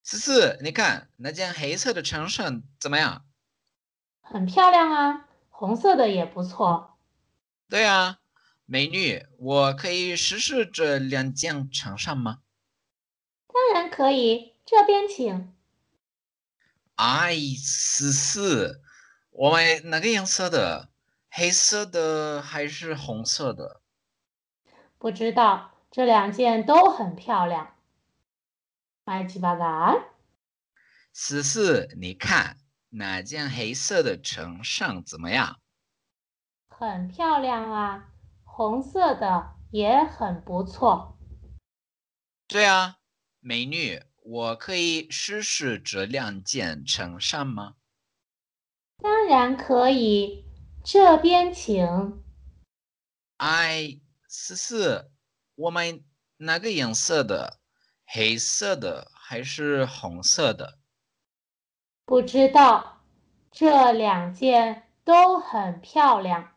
思思，你看那件黑色的衬衫怎么样？ 很漂亮啊，红色的也不错。 对啊，美女，我可以试试这两件衬衫吗？ 当然可以，这边请。 哎，思思，我们哪个颜色的？黑色的还是红色的？ 不知道，这两件都很漂亮。买起吧啦！ 思思，你看那件黑色的衬衫怎么样？ 很漂亮啊，红色的也很不错。 对啊，美女，我可以试试这两件衬衫吗？ 当然可以，这边请。 哎，思思，我们哪个颜色的？黑色的还是红色的？ 不知道，这两件都很漂亮。